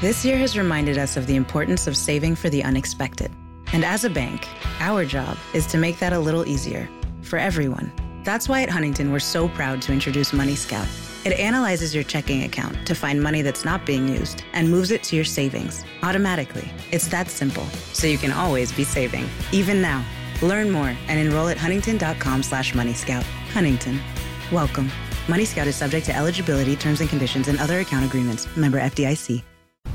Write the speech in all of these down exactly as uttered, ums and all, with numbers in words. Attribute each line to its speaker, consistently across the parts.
Speaker 1: This year has reminded us of the importance of saving for the unexpected. And as a bank, our job is to make that a little easier for everyone. That's why at Huntington, we're so proud to introduce Money Scout. It analyzes your checking account to find money that's not being used and moves it to your savings automatically. It's that simple, so you can always be saving, even now. Learn more and enroll at huntington.com slash moneyscout. Huntington. Welcome. Money Scout is subject to eligibility, terms and conditions, and other account agreements. Member F D I C.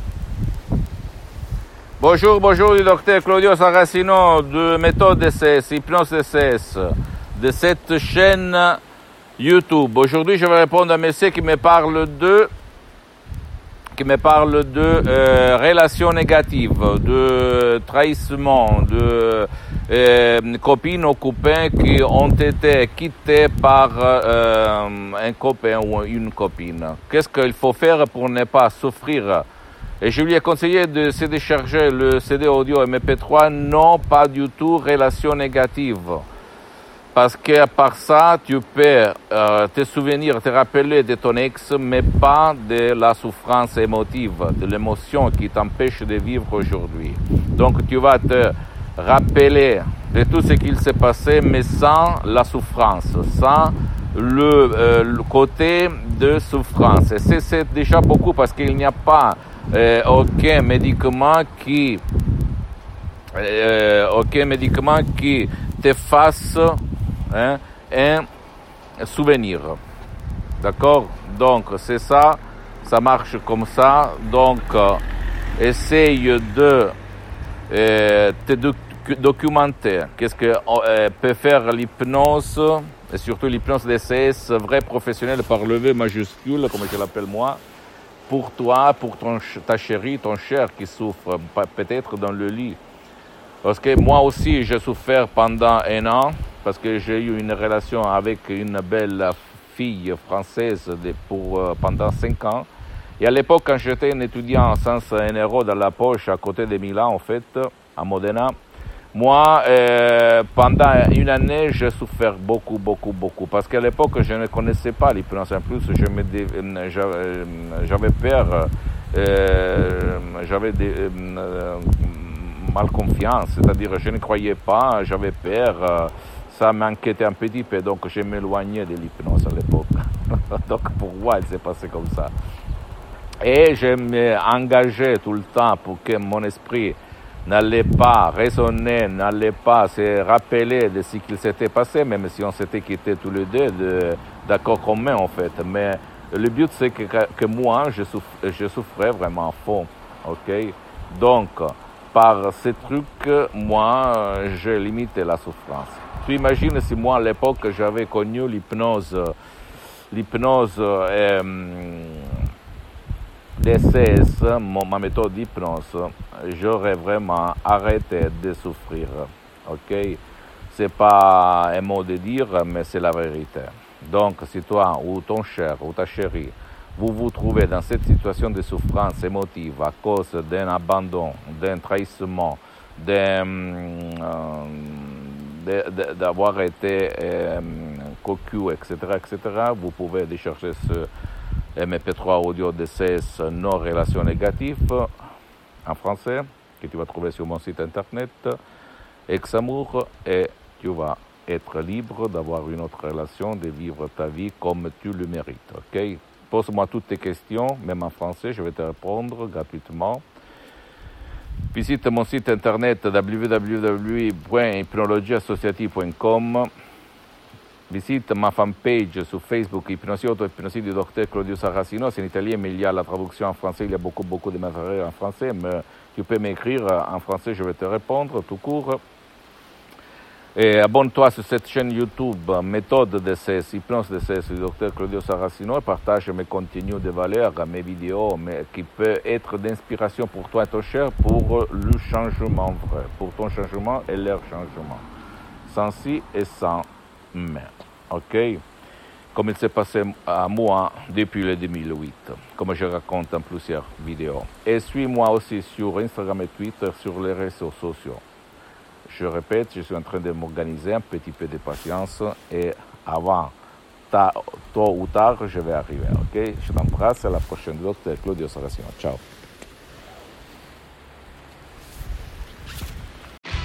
Speaker 2: Bonjour, bonjour du docteur Claudio Saracino de Méthode D C S, Hypnose D C S, de cette chaîne YouTube. Aujourd'hui, je vais répondre à un monsieur qui me parle de, qui me parle de euh, relations négatives, de trahissement, de euh, copines ou copains qui ont été quittés par euh, un copain ou une copine. Qu'est-ce qu'il faut faire pour ne pas souffrir? Et je lui ai conseillé de se décharger le C D audio M P trois, non pas du tout relation négative. Parce qu'à part ça, tu peux euh, te souvenir, te rappeler de ton ex, mais pas de la souffrance émotive, de l'émotion qui t'empêche de vivre aujourd'hui. Donc tu vas te rappeler de tout ce qu'il s'est passé, mais sans la souffrance, sans le, euh, le côté de souffrance. Et c'est, c'est déjà beaucoup parce qu'il n'y a pas Euh, aucun médicament qui euh, aucun médicament qui te fasse hein, un souvenir. D'accord? Donc c'est ça, ça marche comme ça. Donc euh, essaye de euh, te doc- documenter. Qu'est-ce que euh, peut faire l'hypnose, et surtout l'hypnose D C S, vrai professionnel par le V majuscule, comme je l'appelle moi, pour toi, pour ton, ta chérie, ton cher qui souffre, peut-être dans le lit. Parce que moi aussi, j'ai souffert pendant un an, parce que j'ai eu une relation avec une belle fille française de, pour, euh, pendant cinq ans. Et à l'époque, quand j'étais un étudiant sans un euro dans la poche, à côté de Milan, en fait, à Modena, moi, euh, pendant une année, j'ai souffert beaucoup, beaucoup, beaucoup. Parce qu'à l'époque, je ne connaissais pas l'hypnose. En plus, je me dé... j'avais, j'avais peur, euh, j'avais des, euh, mal confiance. C'est-à-dire, je ne croyais pas, j'avais peur. Ça m'inquiétait un petit peu, donc je m'éloignais de l'hypnose à l'époque. Donc pour moi, il s'est passé comme ça. Et je m'engageais tout le temps pour que mon esprit n'allait pas raisonner, n'allait pas se rappeler de ce qu'il s'était passé, même si on s'était quittés tous les deux de, d'accord commun en fait. Mais le but c'est que, que moi, je, souff, je souffrais vraiment à fond, ok? Donc, par ces trucs, moi, j'ai limité la souffrance. Tu imagines si moi, à l'époque, j'avais connu l'hypnose, l'hypnose euh, D C S, ma méthode d'hypnose, j'aurais vraiment arrêté de souffrir. Ok? C'est pas un mot de dire, mais c'est la vérité. Donc, si toi ou ton cher ou ta chérie, vous vous trouvez dans cette situation de souffrance émotive à cause d'un abandon, d'un trahissement, d'un, euh, de, de, d'avoir été euh, cocu, et cetera, et cetera, vous pouvez décharger ce M P trois audio D C S non relation négative en français que tu vas trouver sur mon site internet Ex-Amour, et tu vas être libre d'avoir une autre relation, de vivre ta vie comme tu le mérites. Ok? Pose-moi toutes tes questions, même en français, je vais te répondre gratuitement. Visite mon site internet w w w point hypnologie associative point com. Visite ma fanpage sur Facebook, Hypnosie Auto-Hypnosie du docteur Claudio Saracino. C'est en italien, mais il y a la traduction en français. Il y a beaucoup, beaucoup de matériel en français. Mais tu peux m'écrire en français, je vais te répondre tout court. Et abonne-toi sur cette chaîne YouTube, Méthode D C S, Hypnose D C S du docteur Claudio Saracino, et partage mes contenus de valeur, mes vidéos, mais qui peuvent être d'inspiration pour toi et ton cher pour le changement vrai, pour ton changement et leur changement. Sans si et sans mais. Ok? Comme il s'est passé à moi depuis le deux mille huit, comme je raconte dans plusieurs vidéos. Et suis-moi aussi sur Instagram et Twitter, sur les réseaux sociaux. Je répète, je suis en train de m'organiser, un petit peu de patience, et avant, ta, tôt ou tard, je vais arriver. Ok? Je t'embrasse, à la prochaine, docteur Claudio Saracino. Ciao.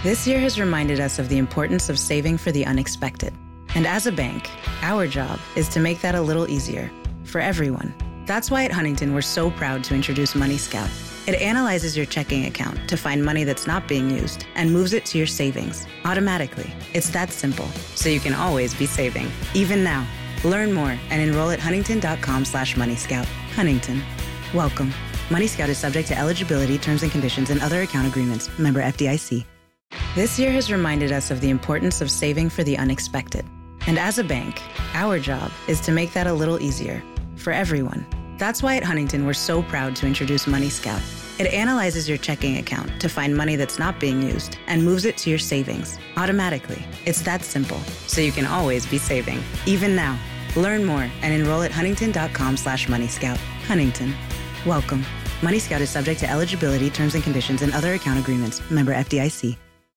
Speaker 1: This year has reminded us of the importance of saving for the unexpected. And as a bank, our job is to make that a little easier for everyone. That's why at Huntington, we're so proud to introduce Money Scout. It analyzes your checking account to find money that's not being used and moves it to your savings automatically. It's that simple, so you can always be saving, even now. Learn more and enroll at huntington.com slash Money Scout. Huntington. Welcome. Money Scout is subject to eligibility, terms and conditions, and other account agreements. Member F D I C. This year has reminded us of the importance of saving for the unexpected. And as a bank, our job is to make that a little easier for everyone. That's why at Huntington, we're so proud to introduce Money Scout. It analyzes your checking account to find money that's not being used and moves it to your savings automatically. It's that simple, so you can always be saving, even now. Learn more and enroll at huntington.com slash Money Scout. Huntington. Welcome. Money Scout is subject to eligibility, terms and conditions, and other account agreements. Member F D I C.